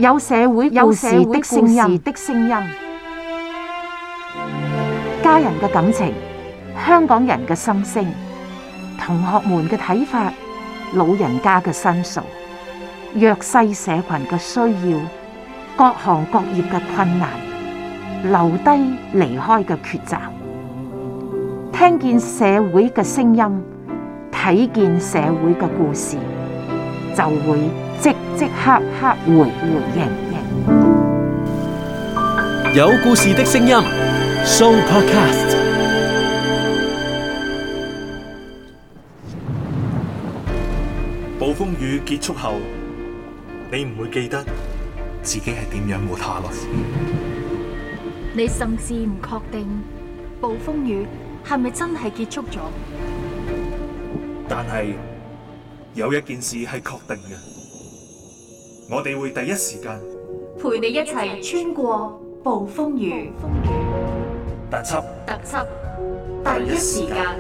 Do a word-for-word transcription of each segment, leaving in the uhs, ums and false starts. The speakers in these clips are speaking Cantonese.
有社會故事的聲音，的聲音，家人嘅感情，香港人嘅心聲，同學們嘅睇法，老人家嘅申訴，弱勢社群嘅需要，各行各業嘅困難，留低離開嘅抉擇，聽見社會嘅聲音，睇見社會嘅故事，就會即即刻刻回回應。 有故事的聲音 Sooo Podcast。 暴風雨結束後，你唔會記得自己係點樣活下來。 你甚至唔確定暴風雨係咪真係結束咗？ 但係有一件事係確定嘅，我哋會第一時間陪你一齊穿過暴風雨。 特輯特輯第一時間。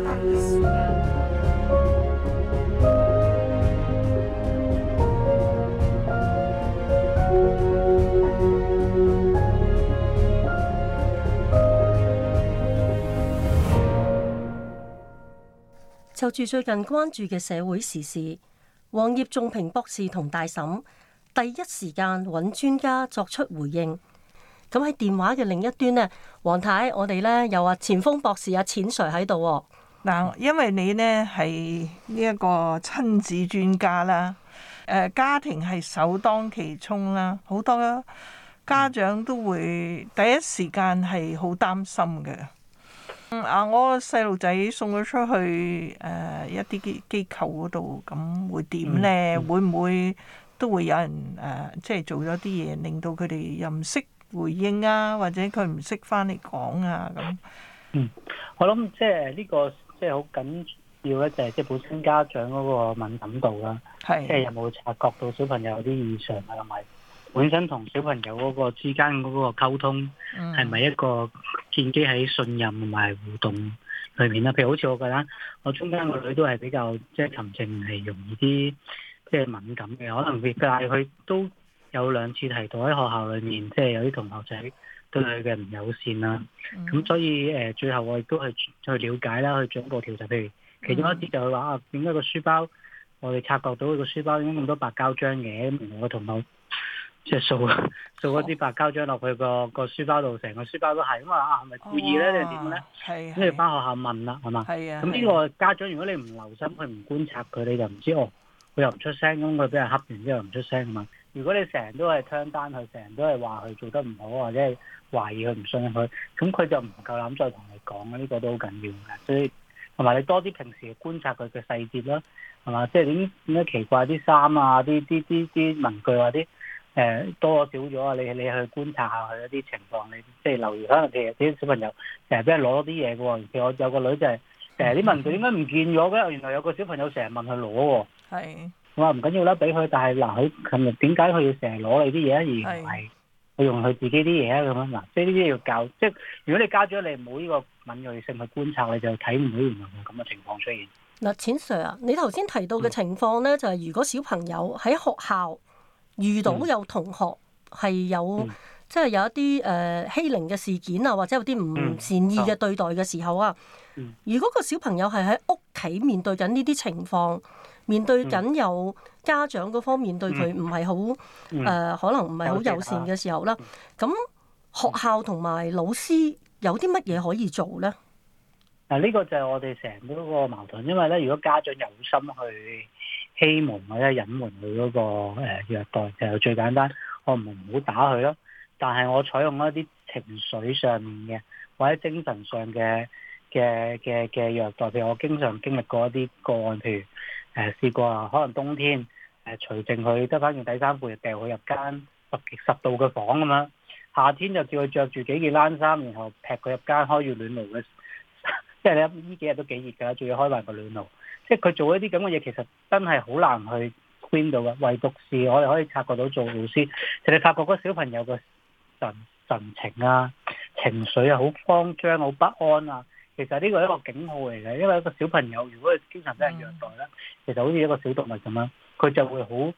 就住最近關注嘅社會時事，黃葉仲平博士同大嬸第一時間揾專家作出回應。咁喺電話嘅另一端呢，黃太，我哋呢有啊錢鋒博士啊錢 Sir 喺度。 嗱，因為你呢係呢一個親子專家啦，誒家庭係首當其衝啦，好多家長都會第一時間係好擔心嘅。啊！我細路仔送咗出去誒、呃、一啲機機構嗰度，咁會點咧？嗯嗯、會唔會都會有人誒、呃，即係做咗啲嘢，令到佢哋又唔識回應啊，或者佢唔識翻嚟講啊咁。 嗯，我諗即係呢個即係好緊要咧，就係即係本身家長嗰個敏感度啦，即係有冇察覺到小朋友有啲異常啊，同埋本身同小朋友嗰個之間嗰個溝通係咪一個建基喺信任同埋互動裏面啦？譬如好似我覺得我中間個女都係比較即係沉靜，係容易啲即係敏感嘅，可能佢但係佢都有兩次提到喺學校裏面，即係有啲同學仔對佢嘅唔友善啦。咁、嗯、所以誒，最後我亦都係去了解啦，去進一步調查。譬如其中一啲就係話啊，點解個書包我哋察覺到佢個書包點解咁多白膠漿嘅？咁我同學即係掃掃嗰啲白膠漿落去個個書包度，成個書包都係，咁啊係咪故意咧定係點咧？係，跟住翻學校問啦，係嘛？係啊。咁呢個家長如果你唔留心，佢唔觀察佢，你就唔知哦。佢又唔出聲，咁佢俾人恰完之後唔出聲啊嘛。如果你成日都係聽單佢，成日都係話佢做得唔好，或者係懷疑佢唔信佢，咁佢就唔夠膽再同你講啊。呢個都好緊要嘅。所以同埋你多啲平時觀察佢嘅細節啦，係嘛？即係點點解奇怪啲衫啊，啲啲啲啲文具啊啲。誒、呃、多少咗啊！你你去觀察下佢一啲情況，你即係留意。可能其實啲小朋友成日俾人攞咗啲嘢嘅喎。其實我有個女就係成日啲文具點解唔見咗嘅？原來有個小朋友成日問佢攞喎。係。我話唔緊要啦，俾佢。但係嗱，佢琴日點解佢要成日攞你啲嘢，而唔係佢用佢自己啲嘢啊？咁樣嗱，即係呢啲要教。即係如果你家長你冇呢個敏鋭性去觀察，你就睇唔到原來有咁嘅情況出現。 嗱，錢 Sir 啊，你頭先提到嘅情況咧，嗯、就係如果小朋友喺學校遇到有同學係有、嗯、即係有一啲誒、呃、欺凌嘅事件啊，或者有啲唔善意嘅對待嘅時候啊，嗯嗯、如果個小朋友係喺屋企面對緊呢啲情況，面對緊有家長嗰方面對佢唔係好誒，可能唔係好友善嘅時候啦，咁、嗯、學校同埋老師有啲乜嘢可以做咧？ 嗱，呢個就係我哋成日嗰個矛盾，因為咧，如果家長有心去欺瞞或者隱瞞佢嗰個誒虐待，就最簡單，我唔唔好打佢咯。但係我採用一啲情緒上面嘅或者精神上嘅嘅嘅嘅虐待，譬如我經常經歷過一啲個案，譬如誒、呃、試過啊，可能冬天誒除淨佢得翻件底衫褲，掉佢入間十十度嘅房咁樣，夏天就叫佢着住幾件冷衫，然後劈佢入間開住暖爐嘅。即係你呢幾日都幾熱㗎，仲要開埋個暖爐。即係佢做一啲咁嘅嘢，其實真係好難去 clean 到嘅。唯獨是我哋可以察覺到做老師，就你發覺嗰小朋友嘅神神情啊、情緒啊，好慌張、好不安啊。其實呢個係一個警號嚟嘅，因為一個小朋友如果佢經常俾人虐待咧，其實好似一個小動物咁樣，佢就會好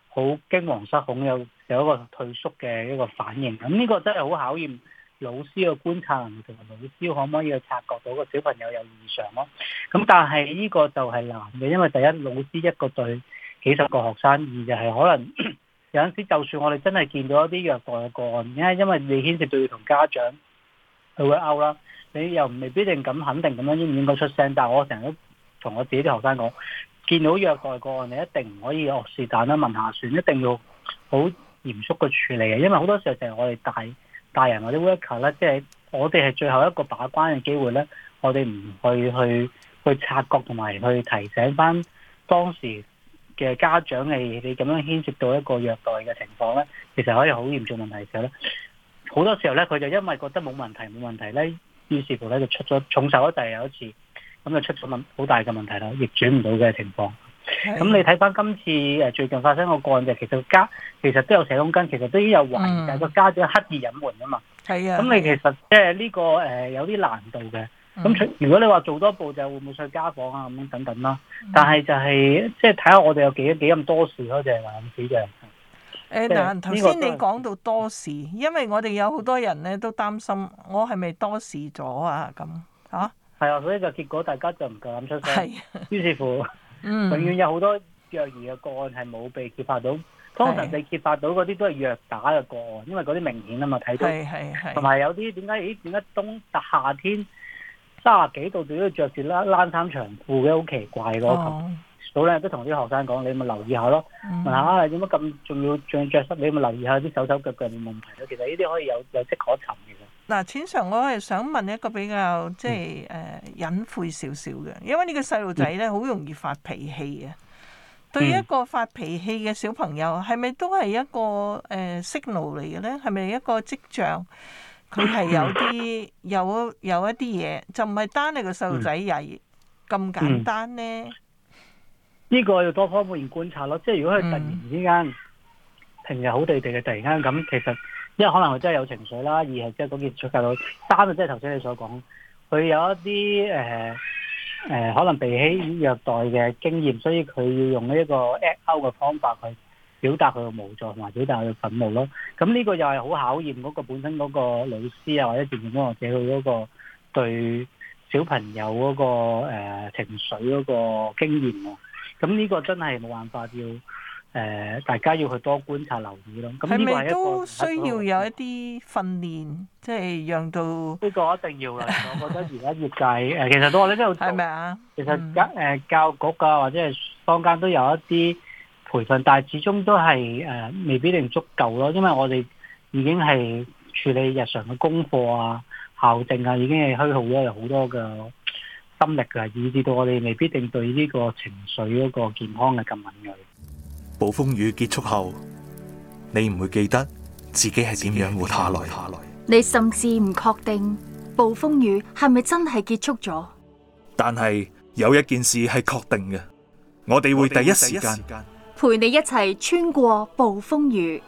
好驚惶失恐，有有一個退縮嘅一個反應。咁呢個真係好考驗老師嘅觀察能力同埋老師可唔可以去察覺到個小朋友有異常咯。咁但係呢個就係難嘅，因為第一老師一個對幾十個學生，二就係可能有陣時就算我哋真係見到一啲虐待嘅個案，因為因為你牽涉到要同家長去會拗啦，你又未必定咁肯定咁樣應唔應該出聲。但係我成日都同我自己啲學生講，見到虐待個案，你一定唔可以哦是但啦問下算，一定要好嚴肅嘅處理嘅。因為好多時候就係我哋大大人或者 worker 咧，即係我哋係最後一個把關嘅機會咧，我哋唔去去去察覺同埋去提醒翻當時嘅家長，係你咁樣牽涉到一個虐待嘅情況咧，其實可以好嚴重問題嘅時候咧，好多時候咧佢就因為覺得冇問題冇問題咧，於是乎咧就出咗重手咗就係有一次。咁就出咗問好大嘅問題啦，逆轉唔到嘅情況。咁你睇翻今次誒最近發生個個案，就其實家其實都有社工跟，其實都已經有懷疑，但係個家長刻意隱瞞啊嘛。係啊。咁你其實即係呢個誒有啲難度嘅。咁、嗯、如果你話做多步就會唔會上家訪啊咁樣等等啦。但係就係即係睇下我哋有幾幾咁多事咯，就係話咁少嘅。誒嗱，頭先你講到多事，因為我哋有好多人咧都擔心我係咪多事咗啊咁嚇。 係啊，所以個結果大家就唔夠膽出聲，於是乎，嗯、永遠有好多虐兒嘅個案係冇被揭發到，通常被揭發到嗰啲都係虐打嘅個案，因為嗰啲明顯啊嘛，睇到，同埋有啲點解？咦？點解冬夏天三十幾度仲要着住冷冷衫長褲嘅？好奇怪咯！哦、早兩日都同啲學生講，你咪留意下咯，嗯、問下點解咁仲要仲着濕？你咪留意下啲手手腳腳有冇問題咯。其實呢啲可以有有跡可尋嘅。 嗱，淺 Sir，我係想問一個比較即係誒隱晦少少嘅，因為呢個細路仔咧好容易發脾氣嘅。對於一個發脾氣嘅小朋友，係咪都係一個誒 signal 嚟嘅咧？係咪一個跡象？佢係有啲有有一啲嘢，就唔係單係個細路仔曳咁簡單咧。呢、 呢個要多方面觀察咯。即係如果佢突然之間、嗯、平日好地地嘅，突然間咁，其實。因為可能佢真係有情緒啦，二係即係嗰件出界到，三就即係頭先你所講，佢有一啲誒誒可能被欺虐待嘅經驗，所以佢要用呢一個 act out 嘅方法去表達佢嘅無助同埋表達佢嘅憤怒咯。咁呢個又係好考驗嗰個本身嗰個老師啊，或者漸漸工作者佢嗰個對小朋友嗰、嗰個、呃、情緒嗰個經驗喎。咁呢個真係冇辦法要。誒、呃，大家要去多觀察、留意咯。咁係咪都需要有一啲訓練，即係讓到呢個一定要啦。我覺得而家業界誒、呃，其實都我哋都有做。係咪啊？其實教誒教育局啊，或者係坊間都有一啲培訓，但係始終都係誒、呃、未必一定足夠咯。因為我哋已經係處理日常嘅功課啊、校政啊，已經係虛耗咗有好多嘅心力㗎，以至到我哋未必定對呢個情緒嗰個健康嘅咁敏銳。 暴風雨結束後，你唔會記得自己係點樣活下來。 你甚至唔確定暴風雨係咪真係結束咗。 但係有一件事係確定嘅，我哋會第一時間陪你一齊穿過暴風雨。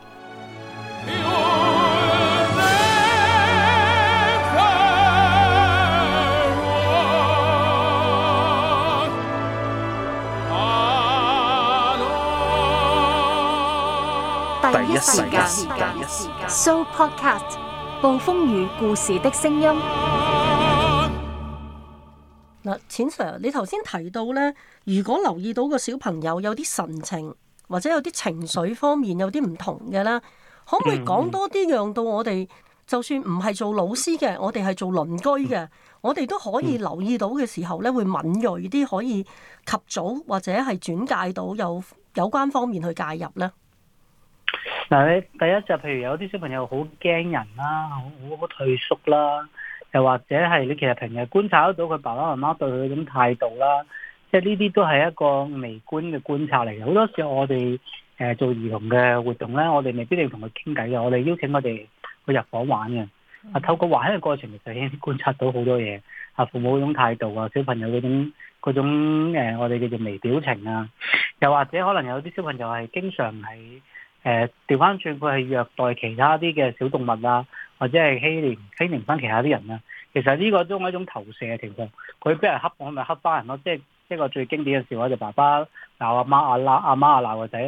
第一時間 ，So Podcast 暴風雨故事的聲音。 嗱，淺 Sir，你頭先提到咧，如果留意到個小朋友有啲神情或者有啲情緒方面有啲唔同嘅咧，可唔可以講多啲，讓到我哋就算唔係做老師嘅，我哋係做鄰居嘅，我哋都可以留意到嘅時候咧，會敏銳啲，可以及早或者係轉介到有有關方面去介入咧。 嗱，你第一就譬如有啲小朋友好驚人啦，好好退縮啦，又或者係你其實平日觀察得到佢爸爸媽媽對佢嗰種態度啦，即係呢啲都係一個微觀嘅觀察嚟嘅。好多時候我哋誒做兒童嘅活動咧，我哋未必要同佢傾偈嘅，我哋邀請佢哋去入房玩嘅。啊，透過玩嘅過程其實已經觀察到好多嘢，啊，父母嗰種態度啊，小朋友嗰種嗰種、呃、我哋叫做微表情啊，又或者可能有啲小朋友係經常係。誒調翻轉，佢係虐待其他啲嘅小動物啊，或者係欺凌欺凌翻其他啲人啊。其實呢個都係一種投射嘅情況。佢俾人恰我，咪恰翻人咯。即係一個最經典嘅笑話就爸爸鬧阿媽，阿媽阿媽鬧個仔，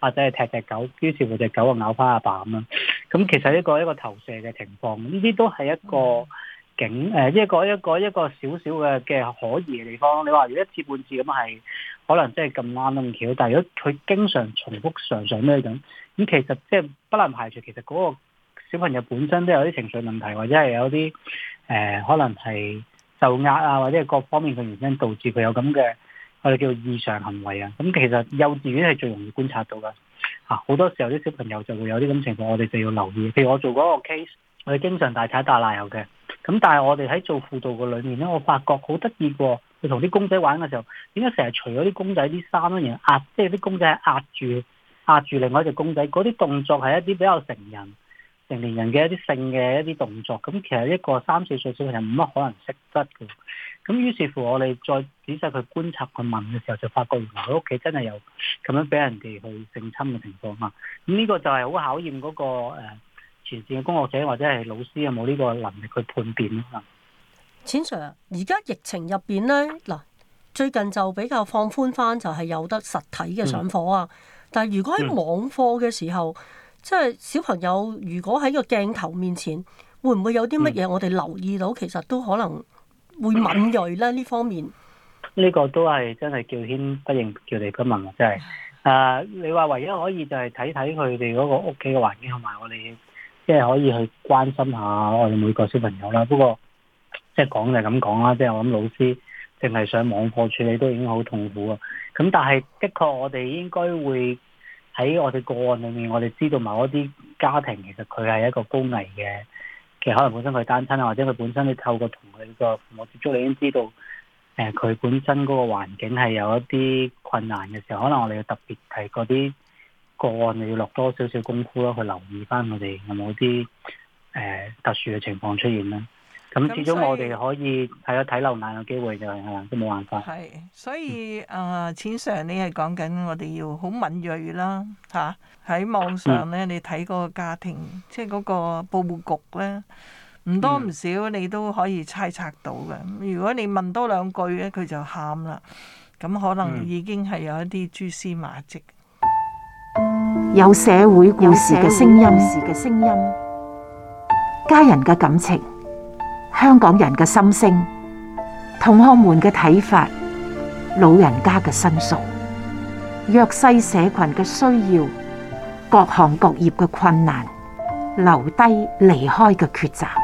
或者係踢隻狗，於是乎隻狗就咬翻阿爸咁樣。咁其實一個一個投射嘅情況，呢啲都係一個景誒、呃，一個一個一個少少嘅嘅可疑嘅地方。你話如果一次半次咁係，可能真係咁啱咁巧，但係如果佢經常重複常常咩咁，咁其實即係不能排除其實嗰個小朋友本身都有啲情緒問題，或者係有啲誒、呃、可能係受壓啊，或者係各方面嘅原因導致佢有咁嘅我哋叫異常行為啊。咁其實幼稚園係最容易觀察到㗎。嚇、啊、好多時候啲小朋友就會有啲咁情況，我哋就要留意。譬如我做嗰個 case，我哋經常大踩大鬧嘅。咁但係我哋喺做輔導嘅裏面咧，我發覺好得意喎。佢同啲公仔玩嘅時候，點解成日除咗啲公仔啲衫咧，然後壓，即係啲公仔係壓住壓住另外一隻公仔，嗰啲動作係一啲比較成人成年人嘅一啲性嘅一啲動作。咁其實一個三四歲小朋友冇乜可能識得嘅。咁於是乎我哋再仔細去觀察佢問嘅時候，就發覺原來佢屋企真係有咁樣俾人哋去性侵嘅情況啊！咁呢個就係好考驗嗰、那個誒、呃、前線嘅工作者或者係老師有冇呢個能力去判別咯。 錢 Sir，而家疫情入邊咧，嗱最近就比較放寬翻，就係有得實體嘅上課啊。嗯、但係如果喺網課嘅時候，嗯、即係小朋友如果喺個鏡頭面前，會唔會有啲乜嘢我哋留意到？其實都可能會敏鋭咧呢方面。呢個都係真係叫天不應，叫地不聞啊！真係。誒、呃，你話唯一可以就係睇睇佢哋嗰個屋企嘅環境，同埋我哋即係可以去關心下我哋每個小朋友啦。不過，即係講就係咁講啦，即係我諗老師淨係上網課處理都已經好痛苦啊。咁但係的確我哋應該會喺我哋個案裏面，我哋知道某一啲家庭其實佢係一個高危嘅，其實可能本身佢單親啊，或者佢本身你透過同佢個父母接觸，你已經知道誒佢、呃、本身嗰個環境係有一啲困難嘅時候，可能我哋要特別係嗰啲個案，你要落多少少功夫咯，去留意翻我哋有冇啲誒特殊嘅情況出現啦。咁始終我哋可以係有睇漏眼嘅機會就係啦，都冇辦法。係， 所以啊，錢 Sir，你係講緊我哋要好敏鋭啦，嚇喺網上咧，你睇嗰個家庭，即係嗰個報告局咧，唔多唔少你都可以猜測到嘅。如果你問多兩句咧，佢就喊啦，咁可能已經係有一啲蛛絲馬跡。 有社會故事嘅聲音，嘅聲音，家人嘅感情。香港人嘅心聲，同學們嘅睇法，老人家嘅申訴，弱勢社群嘅需要，各行各業嘅困難，留低離開嘅抉擇，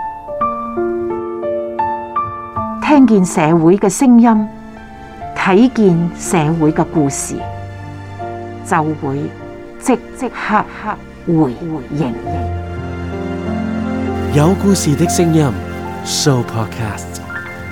聽見社會嘅聲音，睇見社會嘅故事，就會即即刻刻回回應。 有故事的聲音，Show Podcast。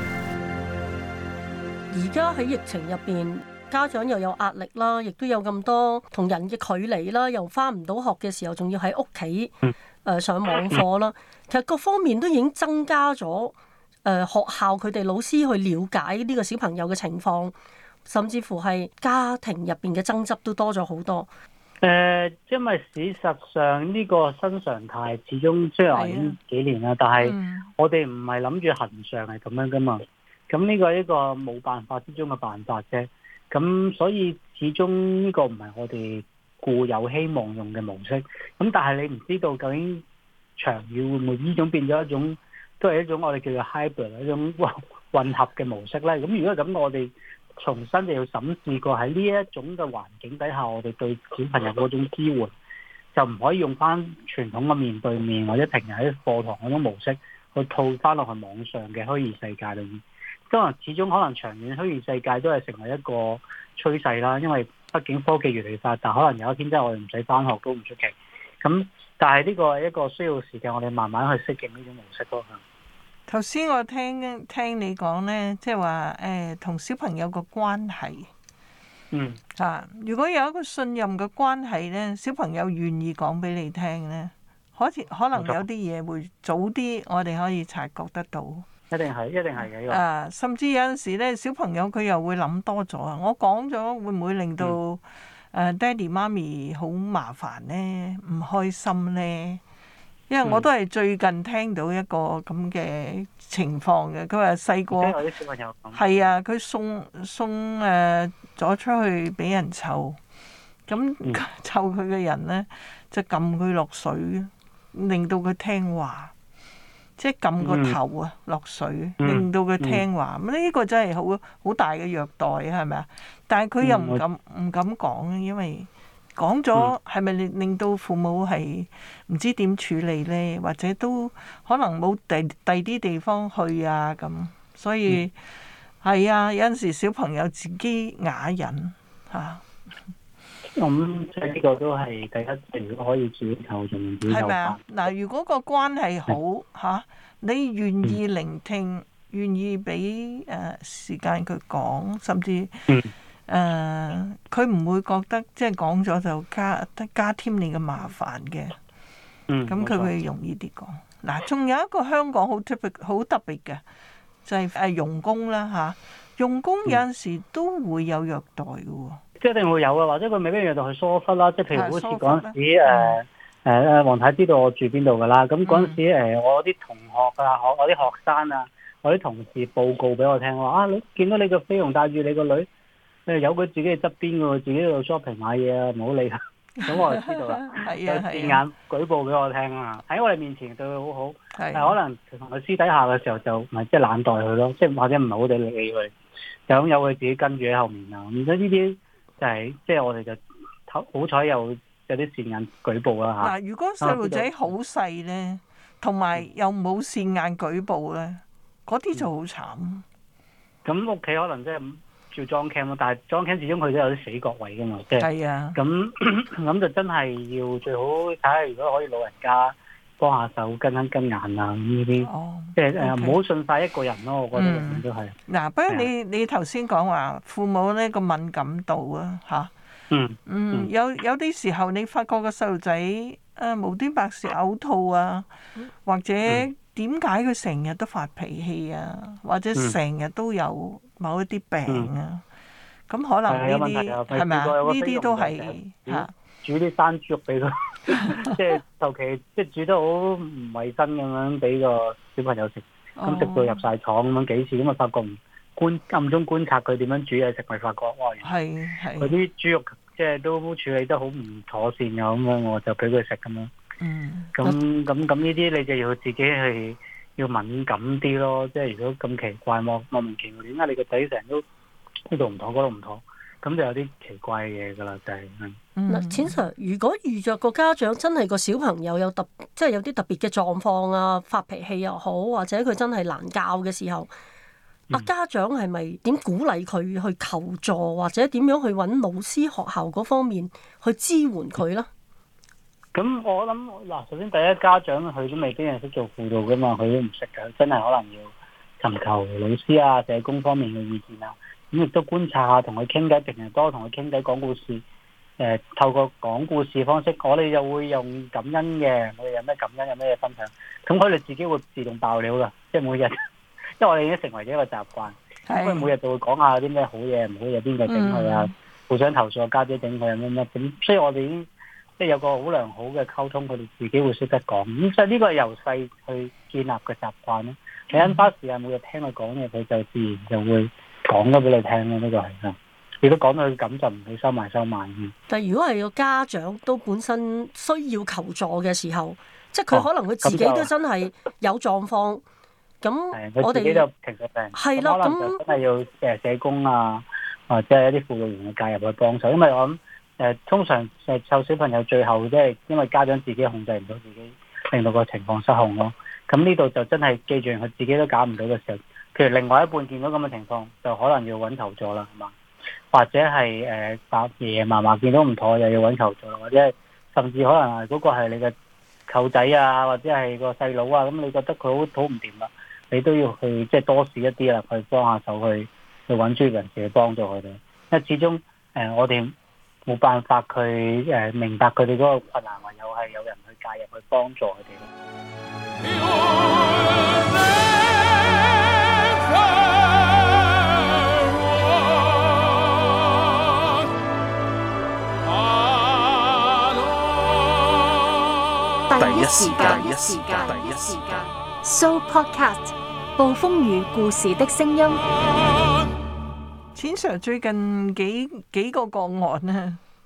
而家喺疫情入邊，家長又有壓力啦，亦都有咁多同人嘅距離啦，又返唔到學嘅時候，仲要喺屋企誒上網課啦。其實各方面都已經增加咗誒、呃、學校佢哋老師去了解呢個小朋友嘅情況，甚至乎係家庭入邊嘅爭執都多咗好多。 誒、呃，因為事實上呢個新常態始終雖然已經幾年啦，啊、但係我哋唔係諗住恆常係咁樣噶嘛。咁呢個係一個冇辦法之中嘅辦法啫。咁所以始終呢個唔係我哋固有希望用嘅模式。咁但係你唔知道究竟長遠會唔會呢種變咗一種，都係一種我哋叫做 hybrid 一種混合嘅模式咧。咁如果係咁，我哋重新就要審視過喺呢一種嘅環境底下，我哋對小朋友嗰種支援，就唔可以用翻傳統嘅面對面或者平日喺課堂嗰種模式去套翻落去網上嘅虛擬世界裏面。當然始終可能長遠虛擬世界都係成為一個趨勢啦，因為畢竟科技越嚟越發達，可能有一天真係我哋唔使翻學都唔出奇。咁但係呢個係一個需要時間，我哋慢慢去適應呢種模式咯。 頭先我聽聽你講咧，即係話誒同小朋友個關係， 嗯啊，如果有一個信任嘅關係咧，小朋友願意講俾你聽咧，可似可能有啲嘢會早啲，我哋可以察覺得到。 一定係，一定係嘅。 啊，甚至有陣時咧，小朋友佢又會諗多咗啊！我講咗會唔會令到誒、嗯、爹哋媽咪好麻煩咧，唔開心咧？因為我都係最近聽到一個咁嘅情況嘅，佢話細個係啊，佢送送誒咗、呃、出去俾人湊， 咁湊佢嘅人咧就撳佢落水，令到佢聽話，即係撳個頭啊落水，令到佢聽話。咁呢個真係好好大嘅虐待啊，係咪啊？但係佢又唔敢唔敢講，因為講咗係咪令令到父母係唔知點處理咧，或者都可能冇第第啲地方去啊咁，所以係啊，有陣時小朋友自己啞忍嚇。 咁即係呢個都係第一，如果可以自己求仲自己有辦。 嗱，如果個關係好嚇、啊，你願意聆聽，願意俾誒時間佢講，甚至誒佢唔會覺得即係講咗就加加添你嘅麻煩嘅。嗯，咁佢會容易啲講。嗱、啊，仲有一個香港好特別好特別嘅，就係誒傭工啦嚇，傭工有陣時都會有虐待嘅喎。 即係一定會有啊，或者佢未必虐待去疏忽啦。即係譬如好似嗰陣時誒誒誒，黃太知道我住邊度㗎啦。咁嗰陣時誒，我啲同學啊，我我啲學生啊，我啲同事報告俾我聽話啊，你見到你個菲傭帶住你個女，誒有佢自己喺側邊㗎喎，自己喺度 shopping 買嘢啊，唔好理佢。咁我就知道啦。係啊係啊。有字眼舉報俾我聽啊，喺我哋面前對佢好好，但係可能同佢私底下嘅時候就咪即係懶待佢咯，即係或者唔係好地理佢，就咁有佢自己跟住喺後面啊。咁所以呢啲。就係即係我哋就好彩有有啲線眼舉報啦嚇。 嗱，如果細路仔好細咧，同埋又冇線眼舉報咧，嗰啲就好慘。咁屋企可能即係照裝 cam 咯，但係裝 cam 始終佢都有啲死角位噶嘛，即係。係啊。咁咁就真係要最好睇下，如果可以老人家幫下手跟一跟眼啊咁呢啲，哦、即係誒唔好信晒一個人咯，我覺得永遠都係。嗱、嗯，不過你你頭先講話父母呢個敏感度啊嚇，嗯嗯，嗯有有啲時候你發覺個細路仔誒無端白事嘔吐啊，或者點解佢成日都發脾氣啊，或者成日都有某一啲病啊，咁、嗯、可能呢啲係咪啊？呢啲都係嚇。煮啲生豬肉俾佢，即係尤其即係煮得好唔衞生咁樣俾個小朋友食，咁食到入晒廠咁樣幾次，咁啊發覺唔觀暗中觀察佢點樣煮嘢食，咪發覺哇，係係嗰啲豬肉即係都處理得好唔妥善嘅咁樣，我就俾佢食咁樣。嗯，咁咁咁呢啲你就要自己係要敏感啲咯，即係如果咁奇怪莫莫名其妙，點解你個仔成日都呢度唔妥嗰度唔妥？咁就有啲奇怪嘅嘢噶啦，就係、是、嗯。嗱，錢 Sir，如果遇着個家長真係個小朋友有特，即係有啲特別嘅狀況啊，發脾氣又好，或者佢真係難教嘅時候，阿、嗯、家長係咪點鼓勵佢去求助，或者點樣去揾老師、學校嗰方面去支援佢咧？咁、嗯、我諗嗱，首先第一家長佢都未必係識做輔導噶嘛，佢都唔識噶，真係可能要尋求老師啊、社工方面嘅意見啊。咁亦都觀察下，同佢傾偈，平日多同佢傾偈講故事。誒、呃，透過講故事方式，我哋就會用感恩嘅，我哋有咩感恩，有咩分享。咁佢哋自己會自動爆料㗎，即係每日，因為我哋已經成為咗一個習慣。咁佢每日就會講下啲咩好嘢、唔好嘢，邊個整佢啊？互相投訴，家姐整佢啊，乜乜咁。所以我哋已經即係有個好良好嘅溝通，佢哋自己會識得講。咁所以呢個係由細去建立嘅習慣咯。你因花時間每日聽佢講嘢，佢就自然就會講咗俾你聽咯，呢個係啊。如果講到佢咁就唔會收埋收埋。但係如果係個家長都本身需要求助嘅時候，即係佢可能佢自己都真係有狀況，咁我哋自己就情緒病，係啦，咁可能就真係要誒社工啊，或者係一啲輔導員嘅介入去幫手，因為我諗誒通常誒湊小朋友最後即係因為家長自己控制唔到自己，令到個情況失控咯。咁呢度就真係記住佢自己都搞唔到嘅時候，譬如另外一半見到咁嘅情況，就可能要揾求助啦，係嘛？或者係誒爸爺爺嫲嫲見到唔妥，又要揾求助啦，或者係甚至可能係嗰個係你嘅舅仔啊，或者係個細佬啊，咁你覺得佢好好唔掂啦，你都要去即係多試一啲啦，去幫下手去去揾專業人士去幫助佢哋，因為始終誒、呃、我哋冇辦法去誒、呃、明白佢哋嗰個困難，唯有係有人去介入去幫助佢哋。 第一時間，第一時間，第一時間。 So Podcast， 暴風雨故事的聲音。 錢 Sir 最近幾幾個個案咧，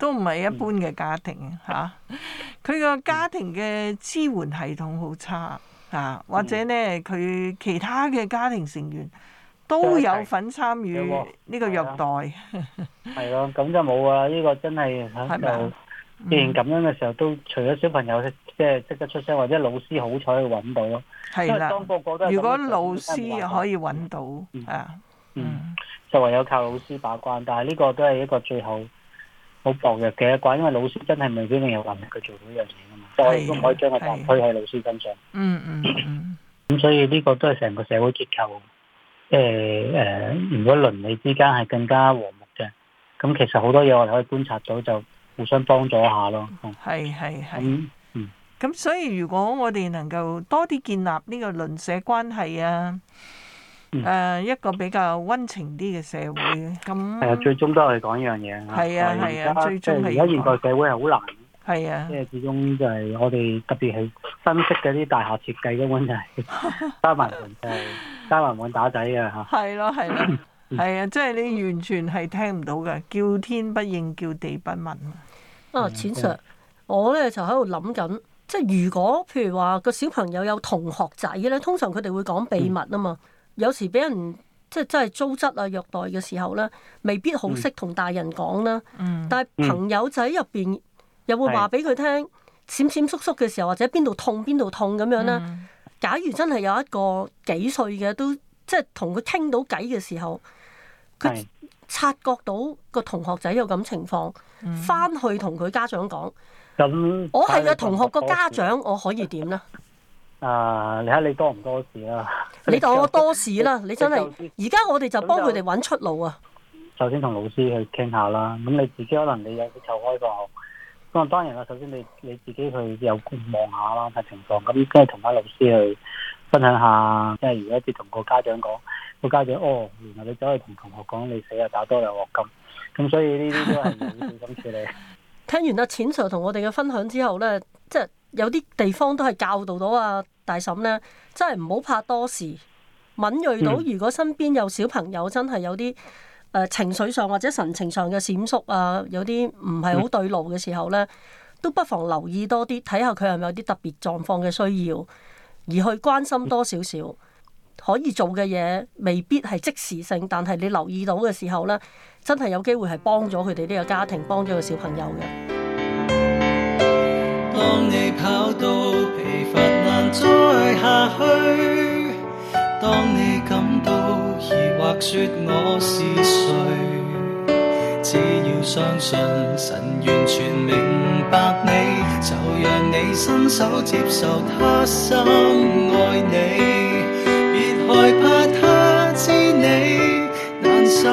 都唔係一般嘅家庭嚇。佢個家庭嘅支援系統好差啊，或者咧佢其他嘅家庭成員都有份參與呢個虐待。 係咯，咁就冇啊！呢個真係就既然咁樣嘅時候，都除咗小朋友即係識得出聲，或者老師好彩去揾到咯。 係啦， 當個個都如果老師可以揾到啊， 嗯，就唯有靠老師把關。但係呢個都係一個最後好薄弱嘅一關，因為老師真係未必定有能力去做到呢樣嘢㗎嘛。所以都唔可以將個責任推喺老師身上。 嗯嗯嗯。 咁所以呢個都係成個社會結構。即係誒，如果鄰里之間係更加和睦嘅，咁其實好多嘢我哋可以觀察到，就互相幫助一下咯。 係係係。 嗯嗯。 咁所以如果我哋能夠多啲建立呢個鄰舍關係啊，誒、呃、一個比較溫情啲嘅社會，咁係啊，最終都係講呢樣嘢。 係啊係啊，最終係而家現代社會係好難。 係啊。 即係始終就係我哋特別係新式嘅啲大廈設計根本就係加埋門就係加埋門打仔嘅嚇。 係咯係咯，係啊！即係你完全係聽唔到嘅，叫天不應，叫地不聞。 啊，錢 Sir，我咧就喺度諗緊，即係如果譬如話個小朋友有同學仔咧，通常佢哋會講秘密啊嘛。嗯、有時俾人即係真係糟質啊虐待嘅時候咧，未必好識同大人講啦。嗯、但係朋友仔入邊又會話俾佢聽，閃閃縮縮嘅時候，或者邊度痛邊度痛咁樣咧。嗯、假如真係有一個幾歲嘅都即係同佢傾到偈嘅時候，佢察覺到個同學仔有咁情況，翻、嗯、去同佢家長講。咁、嗯、我係個同學個家長，我可以點咧？ 啊！你睇你多唔多事啦？ 你當我多事啦！你真係而家我哋就幫佢哋揾出路啊！ 首先同老師去傾下啦。咁你自己可能你有啲湊開個學，咁啊當然啦。首先你你自己去有望下啦睇情況，咁跟住同翻老師去分享下。即係如果一啲同個家長講，個家長哦，原來你走去同同學講你死啊，打多兩鑊金。咁所以呢啲都係要小心處理。聽完阿錢 Sir 同我哋嘅分享之後咧，即係有啲地方都係教導到啊大嬸咧，真係唔好怕多事，敏鋭到如果身邊有小朋友真係有啲誒、呃、情緒上或者神情上嘅閃縮啊，有啲唔係好對路嘅時候咧，都不妨留意多啲，睇下佢係咪有啲特別狀況嘅需要，而去關心多少少。可以做嘅嘢未必係即時性，但係你留意到嘅時候咧，真係有機會係幫咗佢哋呢個家庭，幫咗個小朋友嘅。當你跑到疲乏難再下去，當你感到疑惑說我是誰，只要相信神完全明白你，就讓你伸手接受他深愛你。害怕他知你難受，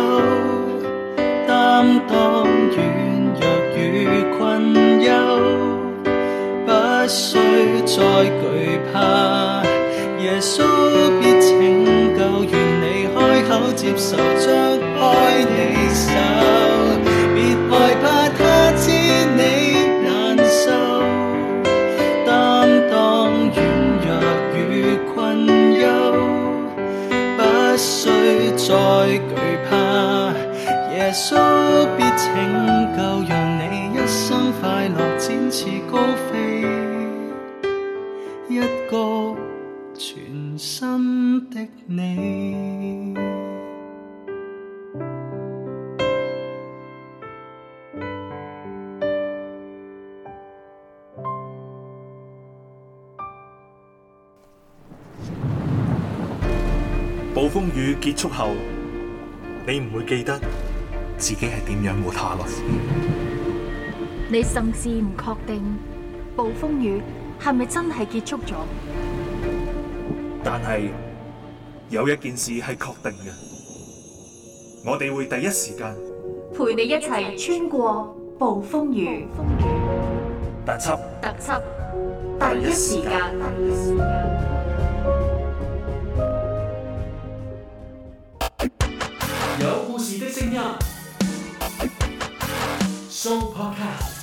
擔當軟弱與困憂，不需再懼怕，耶穌必拯救，願你開口接受，張開你手，別害怕他知你難受，擔當軟弱與困憂，不需再懼怕，耶穌必拯救，讓你一生快樂展翅高飛，一個全新的你。 暴風雨結束後，你唔會記得自己係點樣活下落。 你甚至唔確定暴風雨係咪真係結束咗。 但係有一件事係確定嘅，我哋會第一時間陪你一齊穿過暴風雨。 特輯特輯第一時間。 有故事的聲音 ，Show Podcast。